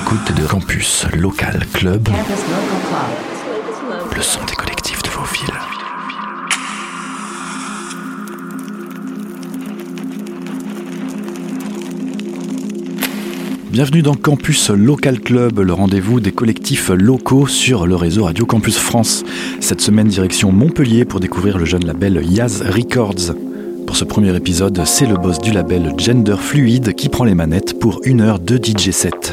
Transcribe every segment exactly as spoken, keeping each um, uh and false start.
l'écoute de Campus Local Club, le son des collectifs de vos villes. Bienvenue dans Campus Local Club, le rendez-vous des collectifs locaux sur le réseau Radio Campus France. Cette semaine, direction Montpellier pour découvrir le jeune label Yaz Records. Pour ce premier épisode, c'est le boss du label Gender Fluid qui prend les manettes pour une heure de D J set.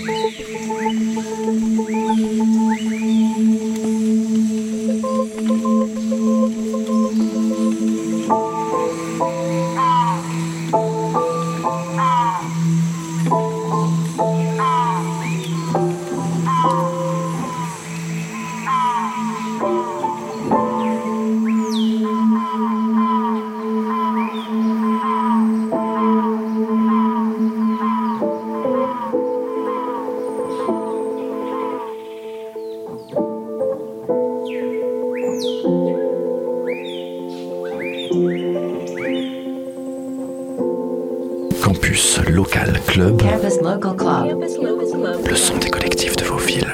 Campus Local Club, Campus Local Club, le son des collectifs de vos villes.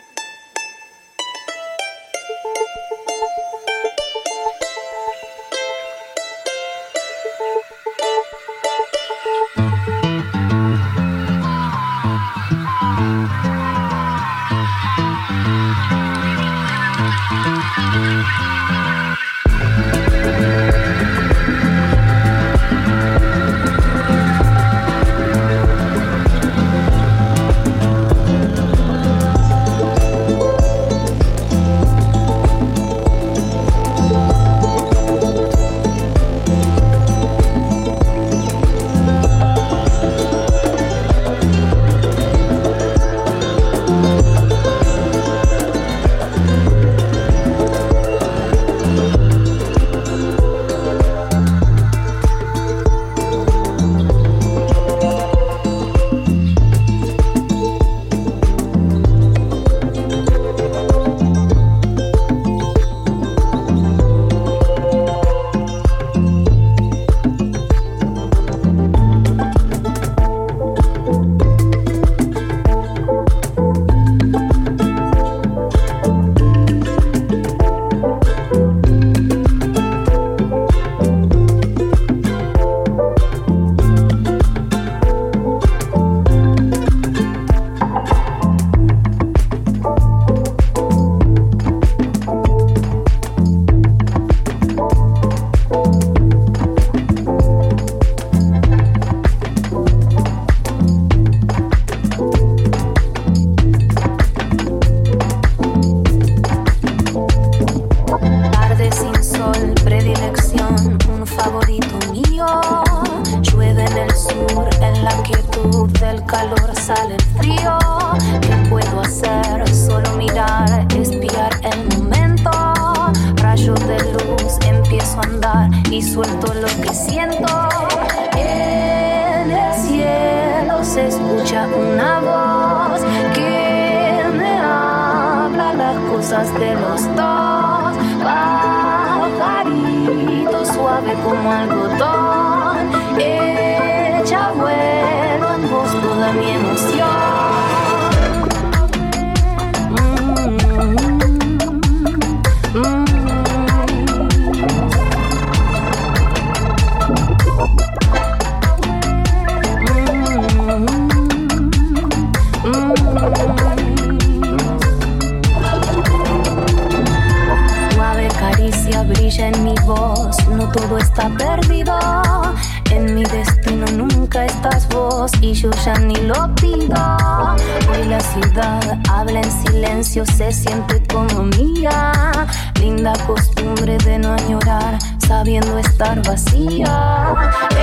Se siente como mía, linda costumbre de no añorar, sabiendo estar vacía.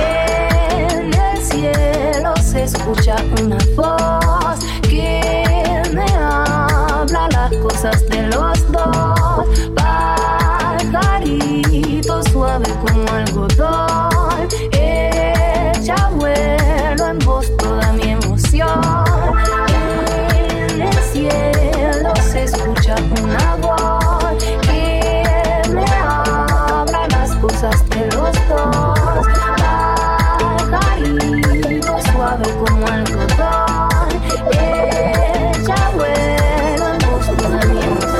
En el cielo se escucha una voz que me habla las cosas de los dos. Pajarito suave como algodón, ella vuelo en voz toda mi emoción. En el cielo se escucha una voz que me habla las cosas de los dos. Pajarito suave como algodón, ella vuela en voz toda mi emoción.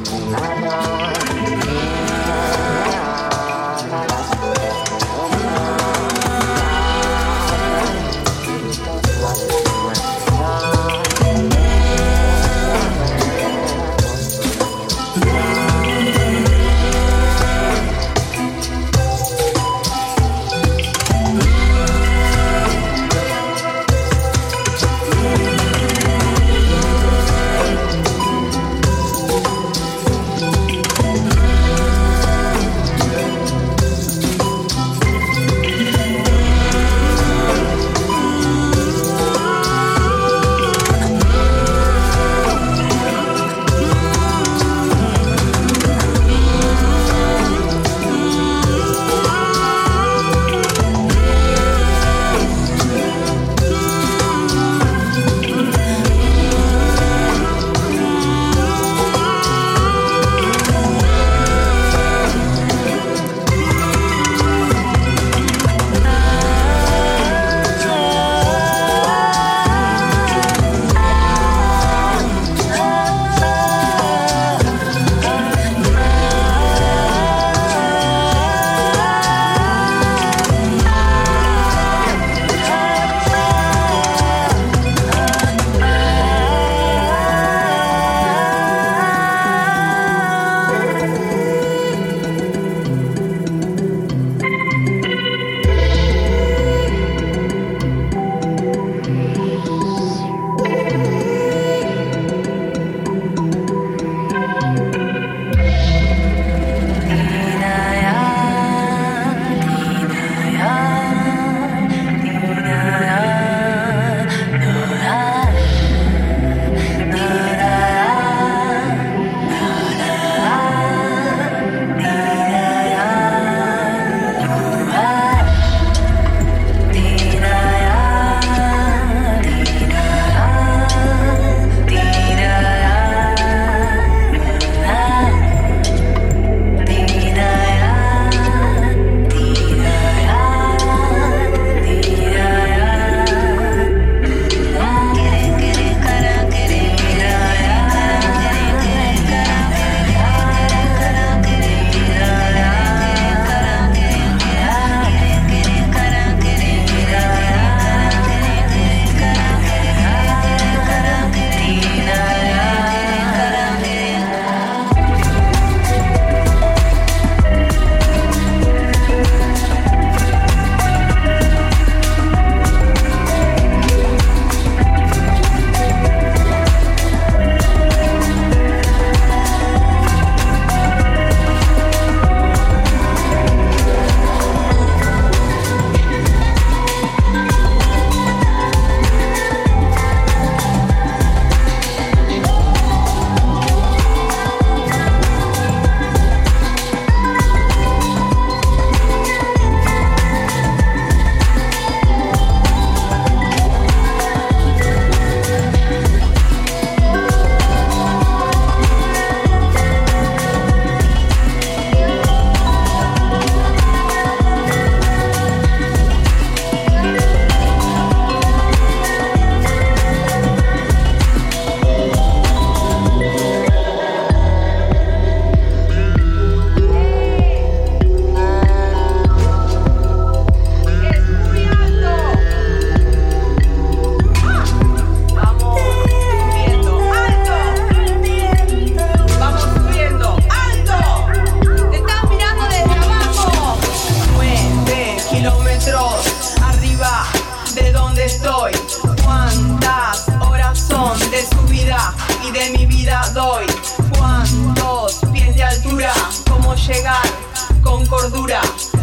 llegar con cordura.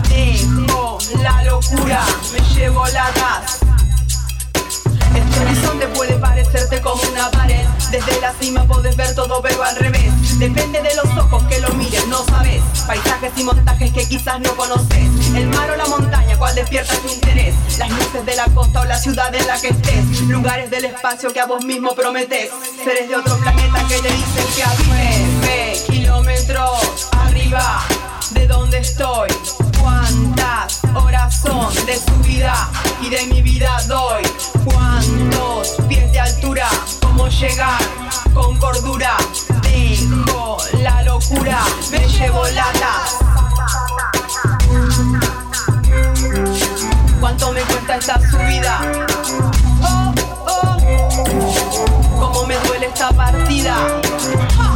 Dejo la locura, me llevo la gas. Este horizonte puede parecerte como una pared. Desde la cima podés ver todo pero al revés. Depende de los ojos que lo miren, no sabes. Paisajes y montajes que quizás no conoces. El mar o la montaña, cuál despierta tu interés. Las luces de la costa o la ciudad en la que estés. Lugares del espacio que a vos mismo prometés. Seres de otro planeta que te dicen que a nueve kilómetros arriba de donde estoy. Cuántas horas son de subida y de mi vida doy. Cuántos pies de altura, cómo llegar con cordura. Dejo la locura, me llevo latas. ¿Cuánto me cuesta esta subida? Oh, oh, cómo me duele esta partida. ¡Ja!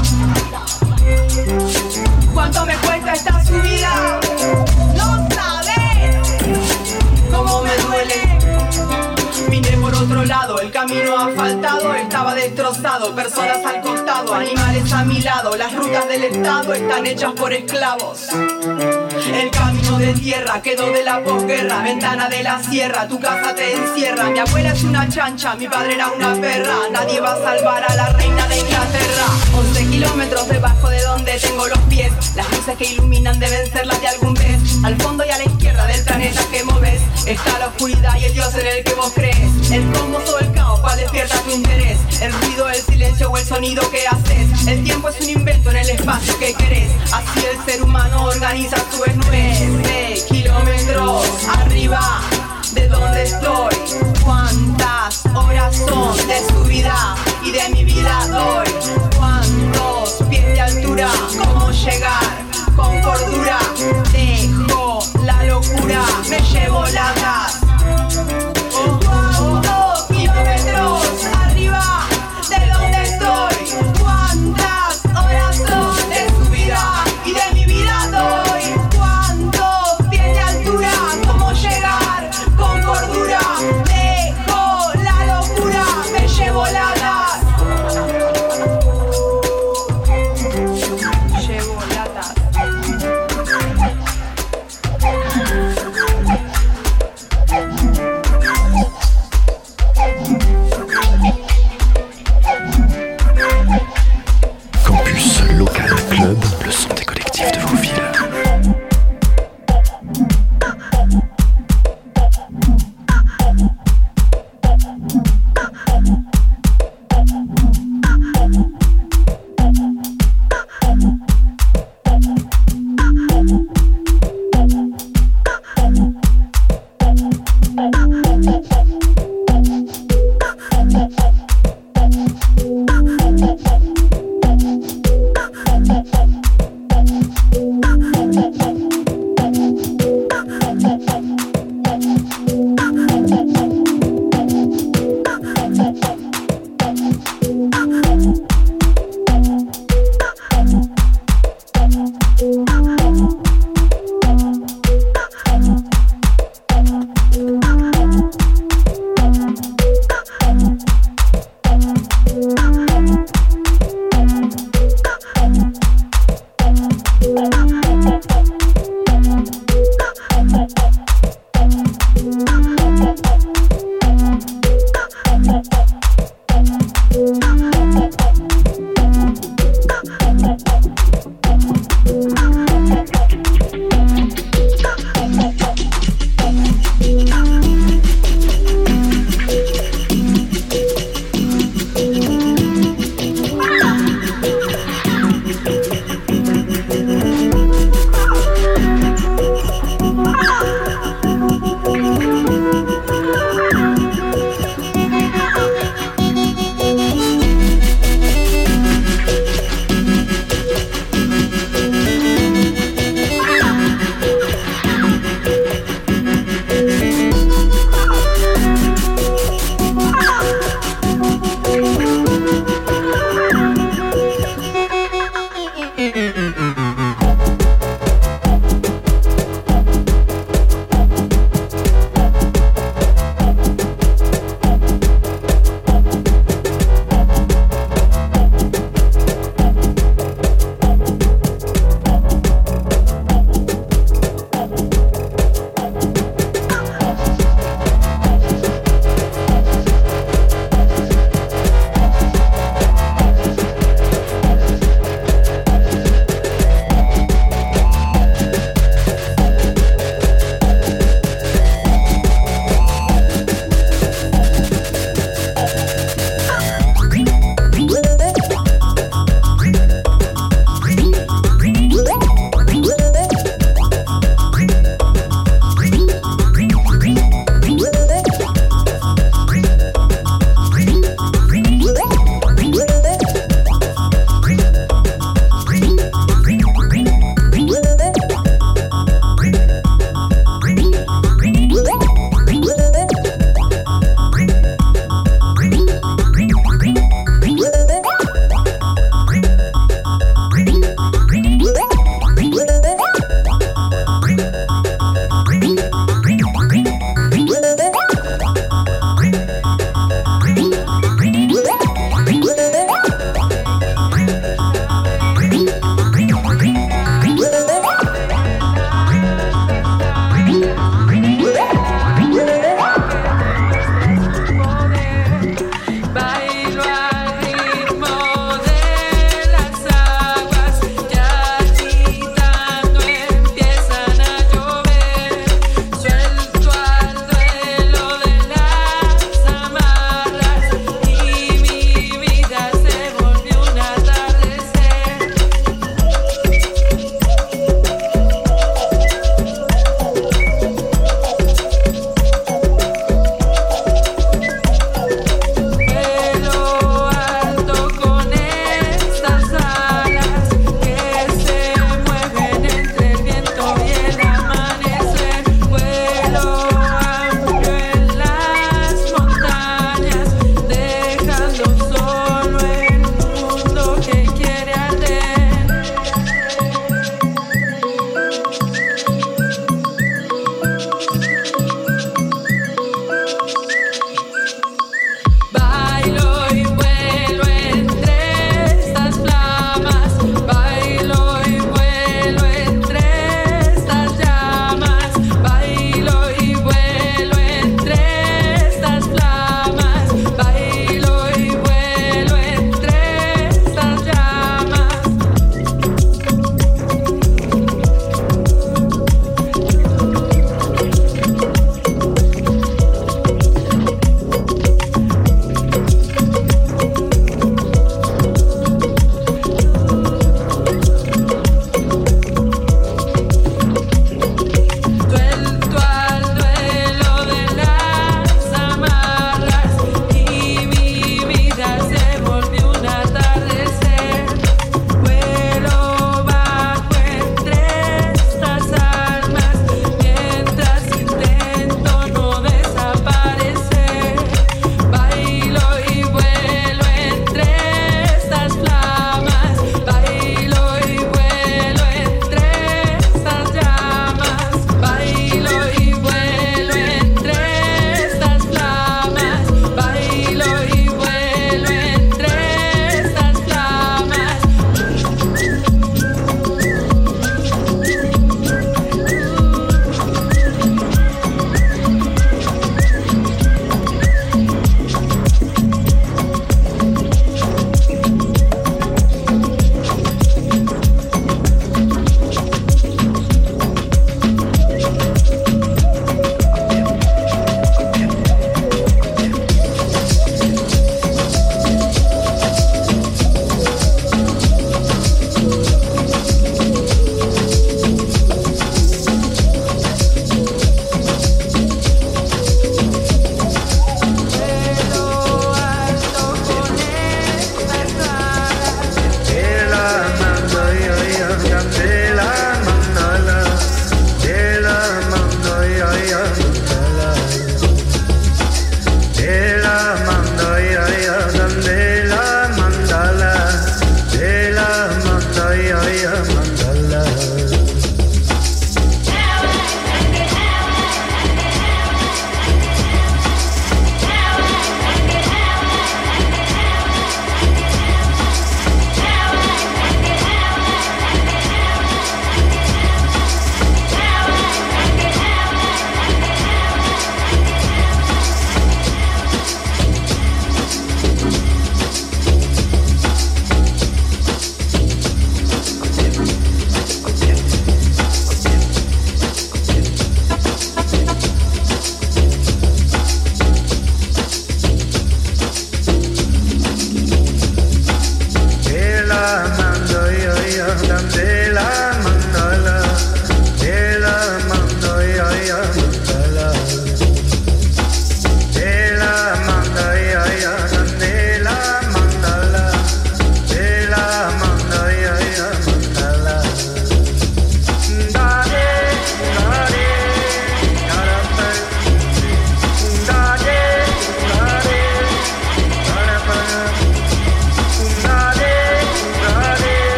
¿Cuánto me cuesta esta subida? No sabes cómo me duele. Vine por otro lado, el camino asfaltado estaba destrozado. Personas al costado, animales a mi lado. Las rutas del estado están hechas por esclavos. El camino de tierra quedó de la posguerra. Ventana de la sierra, tu casa te encierra. Mi abuela es una chancha, mi padre era una perra. Nadie va a salvar a la reina de Inglaterra. Once kilómetros debajo de donde tengo los pies. Las luces que iluminan deben ser las de algún pez. Al fondo y a la izquierda del planeta que moves está la oscuridad y el Dios en el que vos crees. El cosmos o el caos, cual despierta tu interés. El ruido, el silencio o el sonido que haces. El tiempo es un invento en el espacio que querés. Así el ser humano organiza su nueve kilómetros arriba de donde estoy. ¿Cuántas horas son de subida y de mi vida doy? ¿Cuántos pies de altura? ¿Cómo llegar con cordura? Dejo la locura, me llevo la gas. ¿Cuántos kilómetros arriba de donde estoy? ¿Cuántas horas son de subida y de mi vida doy? ¿Cuántos pies de altura? ¿Cómo llegar con cordura? Dejo la locura, me llevo la gas. Llevo latas. Campus Local Club, le son des collectifs de vos villes.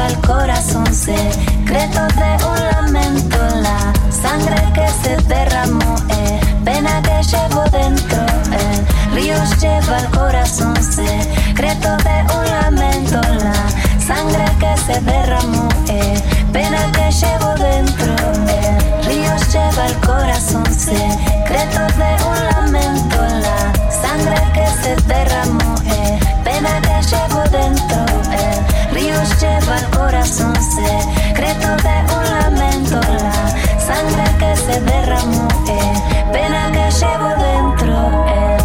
lleva el corazón, secretos de un lamento, la sangre que se derramó, eh, pena que llevo dentro, el río lleva el corazón, secretos de un lamento, la sangre que se derramó, eh, pena que llevo dentro, el río lleva el corazón, secretos de un lamento, la sangre que se derramó, eh, pena que llevo dentro, el río lleva el corazón, secretos de un lamento, la sangre que se derramó, eh, pena que llevo dentro, eh.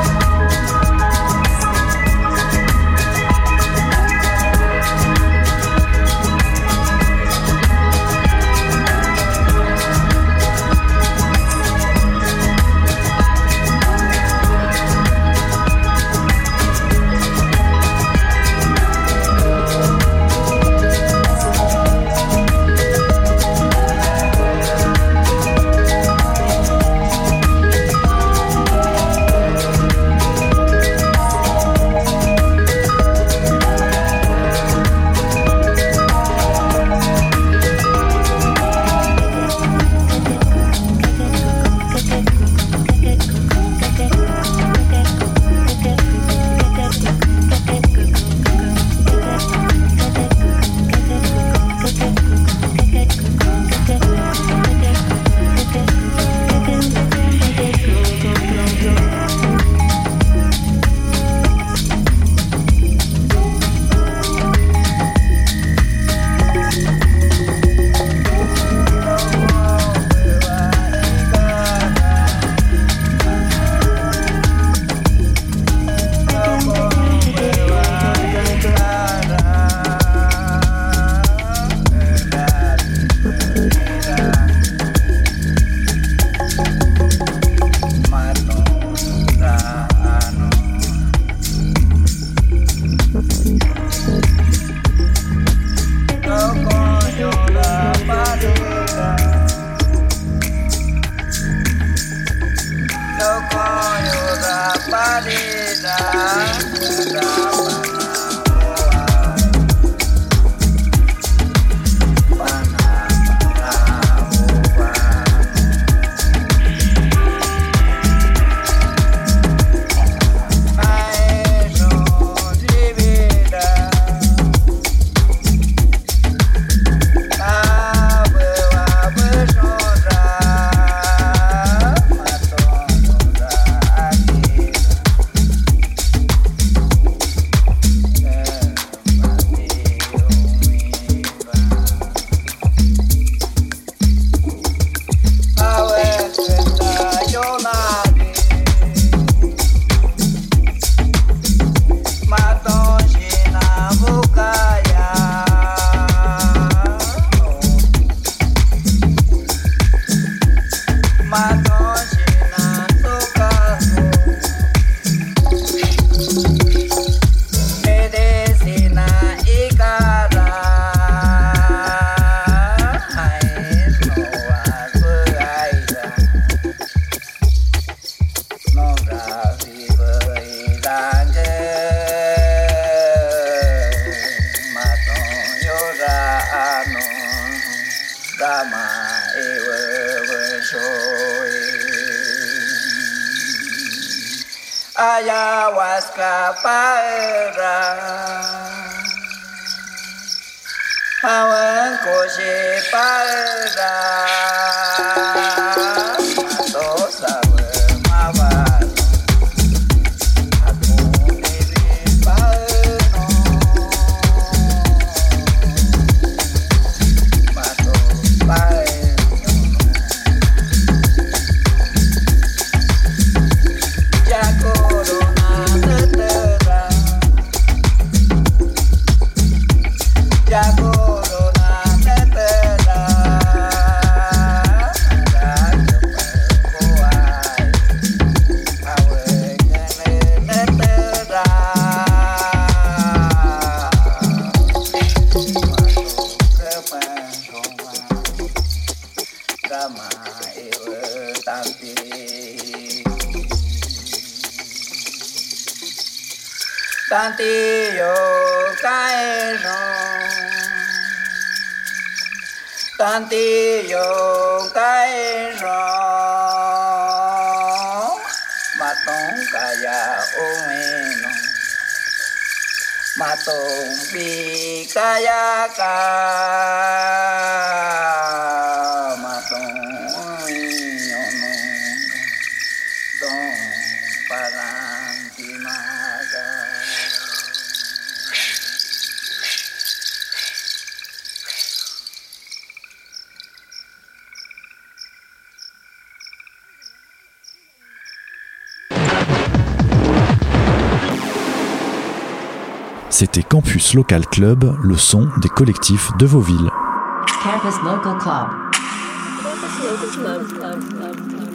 Ayahuasca para Hawan koshi para Mato sawe mawar Aku diri pano Mato pae Tanti yo kae no Tantillo caerón, matón calla umeno, matón picayaca, matón niño nunca, don palantimaga. C'était Campus Local Club, le son des collectifs de vos villes. Campus Local Club. Campus Local Club. Club, Club, Club.